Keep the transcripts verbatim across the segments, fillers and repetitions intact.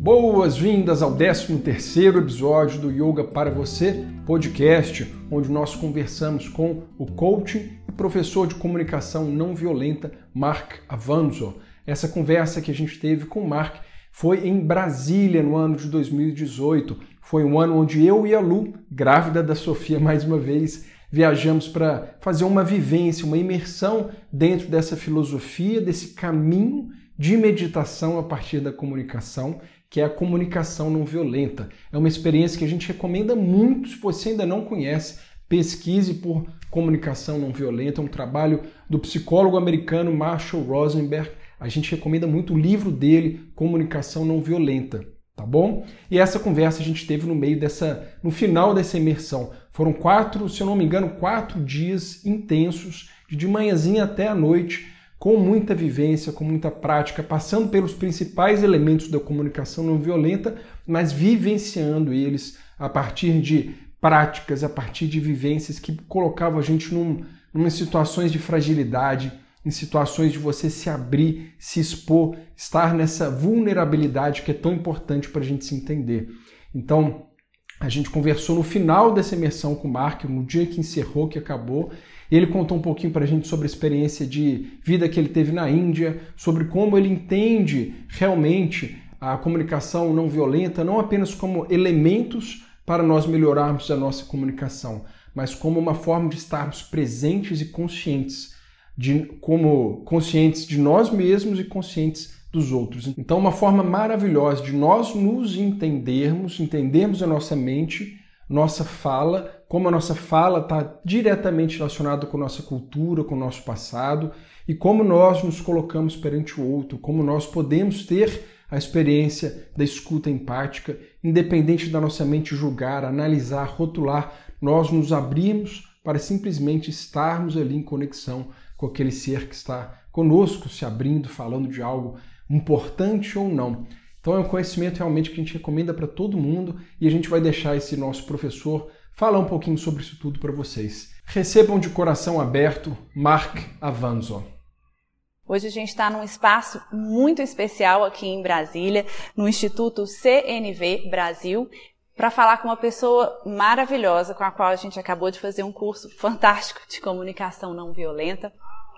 Boas-vindas ao décimo terceiro episódio do Yoga para Você podcast, onde nós conversamos com o coach e professor de comunicação não violenta Mark Avanzo. Essa conversa que a gente teve com o Mark foi em Brasília no ano de dois mil e dezoito. Foi um ano onde eu e a Lu, grávida da Sofia mais uma vez, viajamos para fazer uma vivência, uma imersão dentro dessa filosofia, desse caminho de meditação a partir da comunicação, que é a comunicação não violenta. É uma experiência que a gente recomenda muito. Se você ainda não conhece, pesquise por comunicação não violenta. É um trabalho do psicólogo americano Marshall Rosenberg. A gente recomenda muito o livro dele, Comunicação Não Violenta, tá bom? E essa conversa a gente teve no meio dessa, no final dessa imersão. Foram quatro, se eu não me engano, quatro dias intensos, de manhãzinha até a noite, com muita vivência, com muita prática, passando pelos principais elementos da comunicação não violenta, mas vivenciando eles a partir de práticas, a partir de vivências que colocavam a gente num, numa situações de fragilidade, em situações de você se abrir, se expor, estar nessa vulnerabilidade que é tão importante para a gente se entender. Então, a gente conversou no final dessa imersão com o Mark, no dia que encerrou, que acabou, e ele contou um pouquinho para a gente sobre a experiência de vida que ele teve na Índia, sobre como ele entende realmente a comunicação não violenta, não apenas como elementos para nós melhorarmos a nossa comunicação, mas como uma forma de estarmos presentes e conscientes, de, como conscientes de nós mesmos e conscientes dos outros. Então, uma forma maravilhosa de nós nos entendermos, entendermos a nossa mente, nossa fala, como a nossa fala está diretamente relacionada com a nossa cultura, com o nosso passado, e como nós nos colocamos perante o outro, como nós podemos ter a experiência da escuta empática, independente da nossa mente julgar, analisar, rotular, nós nos abrimos para simplesmente estarmos ali em conexão com aquele ser que está conosco, se abrindo, falando de algo importante ou não. Então é um conhecimento realmente que a gente recomenda para todo mundo e a gente vai deixar esse nosso professor falar um pouquinho sobre isso tudo para vocês. Recebam de coração aberto Mark Avanzo. Hoje a gente está num espaço muito especial aqui em Brasília, no Instituto C N V Brasil, para falar com uma pessoa maravilhosa com a qual a gente acabou de fazer um curso fantástico de comunicação não violenta,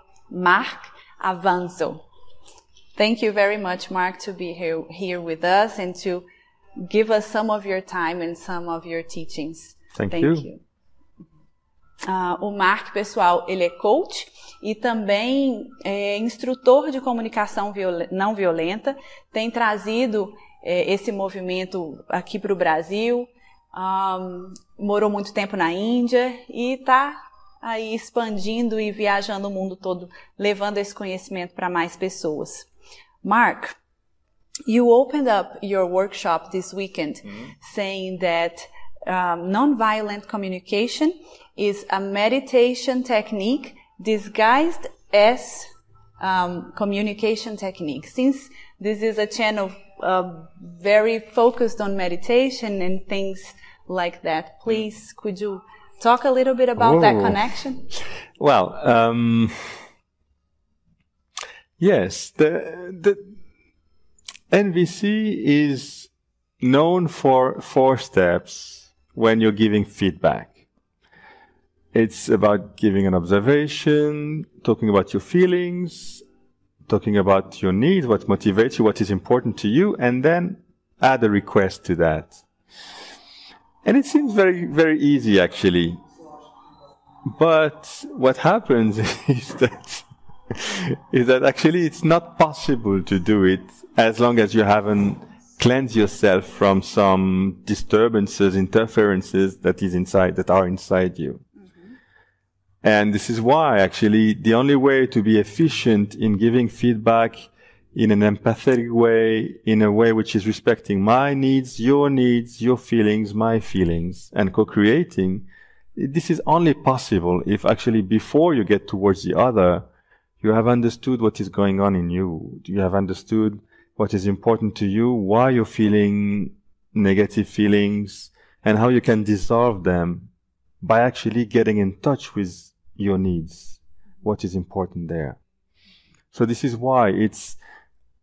Mark Avanzo. Thank you very much, Mark, to be here, here with us and to give us some of your time and some of your teachings. Thank, Thank you. you. Uh, o Mark, pessoal, ele é coach e também é instrutor de comunicação viol- não violenta, tem trazido é, esse movimento aqui para o Brasil, um, morou muito tempo na Índia e está aí expandindo e viajando o mundo todo, levando esse conhecimento para mais pessoas. Mark, you opened up your workshop this weekend mm-hmm. saying that um, nonviolent communication is a meditation technique disguised as um, communication technique. Since this is a channel uh, very focused on meditation and things like that, please, could you talk a little bit about oh. that connection? Well, um... Yes, the, the N V C is known for four steps when you're giving feedback. It's about giving an observation, talking about your feelings, talking about your needs, what motivates you, what is important to you, and then add a request to that. And it seems very, very easy actually. But what happens is that is that actually it's not possible to do it as long as you haven't cleansed yourself from some disturbances, interferences that is inside, that are inside you. Mm-hmm. And this is why actually the only way to be efficient in giving feedback in an empathetic way, in a way which is respecting my needs, your needs, your feelings, my feelings, and co-creating, this is only possible if actually before you get towards the other, you have understood what is going on in you. You have understood what is important to you, why you're feeling negative feelings, and how you can dissolve them by actually getting in touch with your needs, what is important there. So this is why it's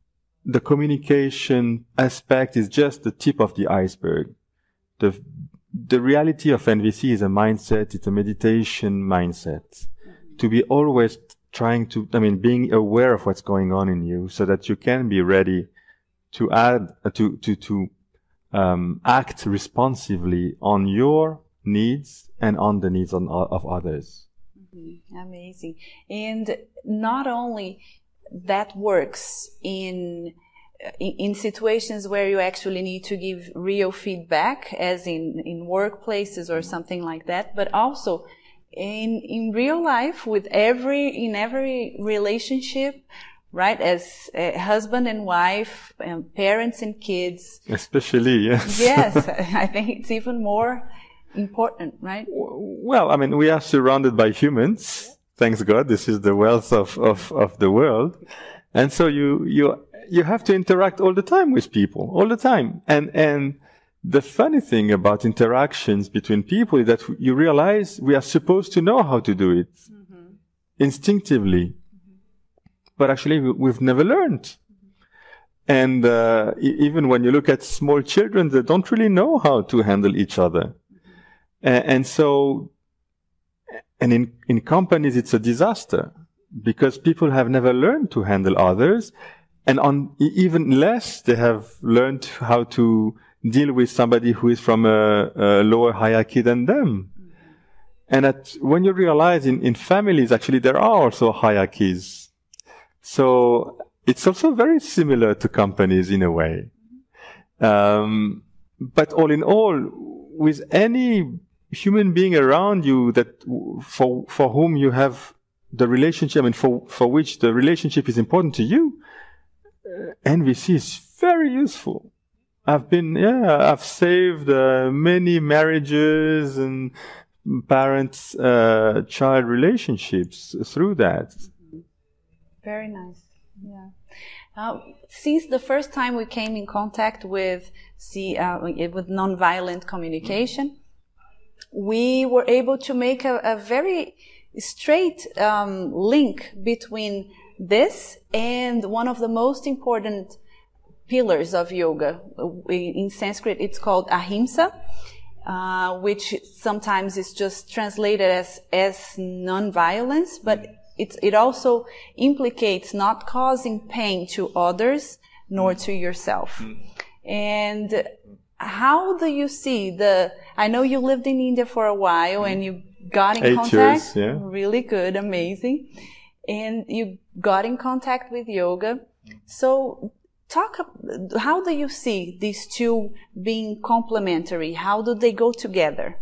the communication aspect is just the tip of the iceberg. The, the reality of N V C is a mindset, it's a meditation mindset. Mm-hmm. To be always trying to, I mean, being aware of what's going on in you so that you can be ready to add, uh, to, to, to, um, act responsively on your needs and on the needs on, of others. Mm-hmm. Amazing. And not only that works in, in, in situations where you actually need to give real feedback, as in, in workplaces or something like that, but also in, in real life with every, in every relationship, right? As a husband and wife, and parents and kids. Especially, yes. Yes. I think it's even more important, right? Well, I mean, we are surrounded by humans. Thanks God. This is the wealth of, of, of the world. And so you, you, you have to interact all the time with people, all the time. And, and the funny thing about interactions between people is that you realize we are supposed to know how to do it mm-hmm. instinctively. Mm-hmm. But actually we've never learned. Mm-hmm. And, uh, e- even when you look at small children, they don't really know how to handle each other. Mm-hmm. A- and so, And in, in companies, it's a disaster because people have never learned to handle others. And on even less, they have learned how to deal with somebody who is from a, a lower hierarchy than them. Mm-hmm. And at, when you realize in, in families, actually, there are also hierarchies. So it's also very similar to companies in a way. Mm-hmm. Um, but all in all, with any human being around you that for for whom you have the relationship, I mean, for for which the relationship is important to you, uh, N V C is very useful. I've been, yeah, I've saved uh, many marriages and parent-child uh, relationships through that. Mm-hmm. Very nice. Yeah. Uh, since the first time we came in contact with see uh, with nonviolent communication. Mm-hmm. We were able to make a, a very straight um, link between this and one of the most important pillars of yoga. In Sanskrit, it's called ahimsa, uh, which sometimes is just translated as, as non-violence, but it's, it also implicates not causing pain to others nor to yourself. And how do you see the, I know you lived in India for a while and you got in Eight contact. Years, yeah. Really good, amazing. And you got in contact with yoga. So talk, how do you see these two being complementary? How do they go together?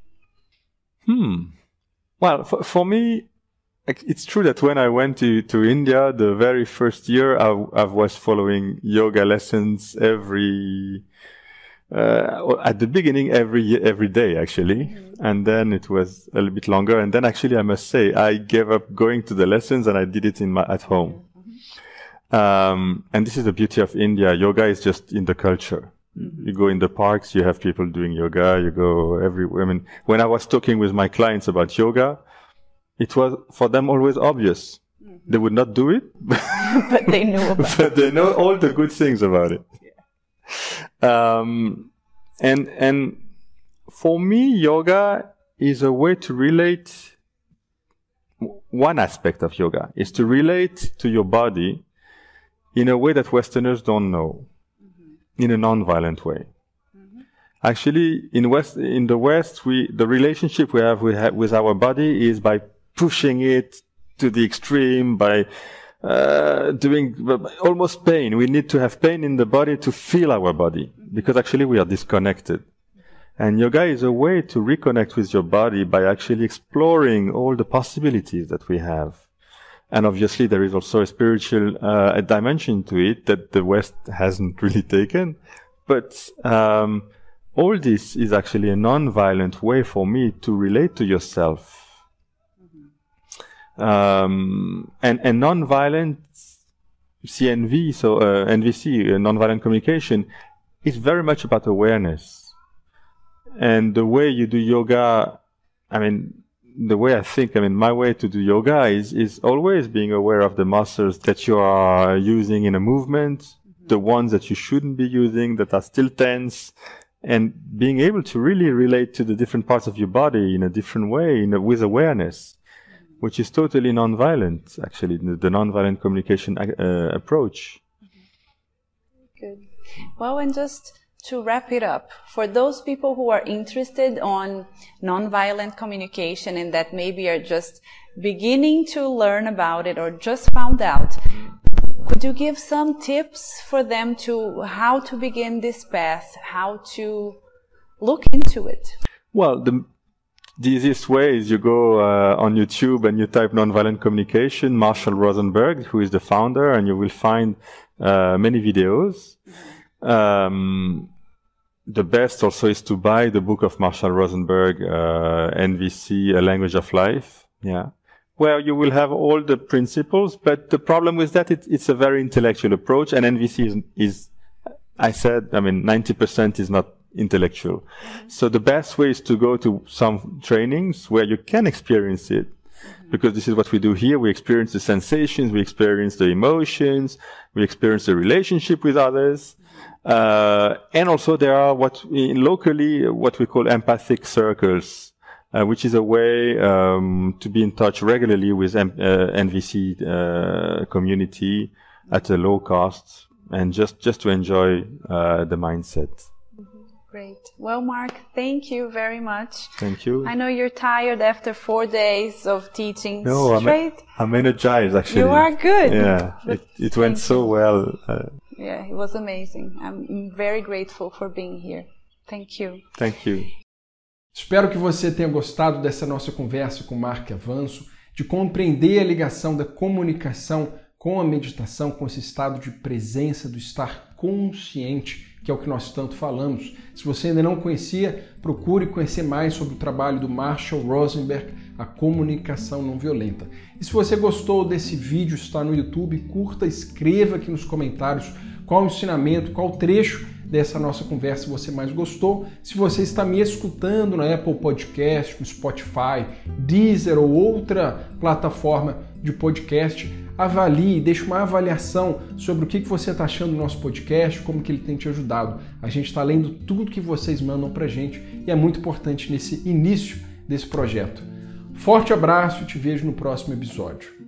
Hmm. Well, for, for me, it's true that when I went to, to India, the very first year, I, I was following yoga lessons every Uh, at the beginning, every every day, actually. Mm-hmm. And then it was a little bit longer. And then actually, I must say, I gave up going to the lessons and I did it in my, at home. Mm-hmm. Um, and this is the beauty of India. Yoga is just in the culture. Mm-hmm. You go in the parks, you have people doing yoga, you go everywhere. I mean, when I was talking with my clients about yoga, it was for them always obvious. Mm-hmm. They would not do it, but they knew about it. But they know all the good things about it. Um, and, and for me, yoga is a way to relate. One aspect of yoga is to relate to your body in a way that Westerners don't know, mm-hmm. in a non-violent way. Mm-hmm. Actually, in West, in the West, we, the relationship we have, we have with our body is by pushing it to the extreme, by Uh, doing almost pain. We need to have pain in the body to feel our body, because actually we are disconnected. And yoga is a way to reconnect with your body by actually exploring all the possibilities that we have. And obviously there is also a spiritual uh, a dimension to it that the West hasn't really taken. But um, all this is actually a non-violent way for me to relate to yourself. Um, and, and non-violent C N V, so uh, N V C, uh, non-violent communication, is very much about awareness. And the way you do yoga, I mean, the way I think, I mean, my way to do yoga is, is always being aware of the muscles that you are using in a movement, mm-hmm. the ones that you shouldn't be using, that are still tense, and being able to really relate to the different parts of your body in a different way, in a, with awareness, which is totally non-violent, actually, the, the non-violent communication uh, approach. Good. Well, and just to wrap it up, for those people who are interested on nonviolent communication and that maybe are just beginning to learn about it or just found out, could you give some tips for them to how to begin this path, how to look into it? Well, the, the easiest way is you go uh, on YouTube and you type nonviolent communication, Marshall Rosenberg, who is the founder, and you will find uh, many videos. Um, the best also is to buy the book of Marshall Rosenberg, uh, N V C, A Language of Life. Yeah. Where you will have all the principles, but the problem with that, it, it's a very intellectual approach, and N V C is, is, I said, I mean, ninety percent is not intellectual. Mm-hmm. So the best way is to go to some trainings where you can experience it, mm-hmm. because this is what we do here. We experience the sensations, we experience the emotions, we experience the relationship with others. Uh, and also there are what we, locally, what we call empathic circles. Uh, which is a way um, to be in touch regularly with M- uh, N V C uh, community at a low cost, and just, just to enjoy uh, the mindset. Mm-hmm. Great. Well, Mark, thank you very much. Thank you. I know you're tired after four days of teaching no, straight. I'm, I'm energized, actually. You are good. Yeah, it, it went so well. Uh, yeah, it was amazing. I'm very grateful for being here. Thank you. Thank you. Espero que você tenha gostado dessa nossa conversa com o Mark Avanço, de compreender a ligação da comunicação com a meditação, com esse estado de presença, do estar consciente, que é o que nós tanto falamos. Se você ainda não conhecia, procure conhecer mais sobre o trabalho do Marshall Rosenberg, a comunicação não violenta. E se você gostou desse vídeo, está no YouTube, curta, escreva aqui nos comentários qual o ensinamento, qual o trecho dessa nossa conversa você mais gostou. Se você está me escutando na Apple Podcast, no Spotify, Deezer ou outra plataforma de podcast, avalie, deixe uma avaliação sobre o que você está achando do nosso podcast, como que ele tem te ajudado. A gente está lendo tudo que vocês mandam para a gente e é muito importante nesse início desse projeto. Forte abraço e te vejo no próximo episódio.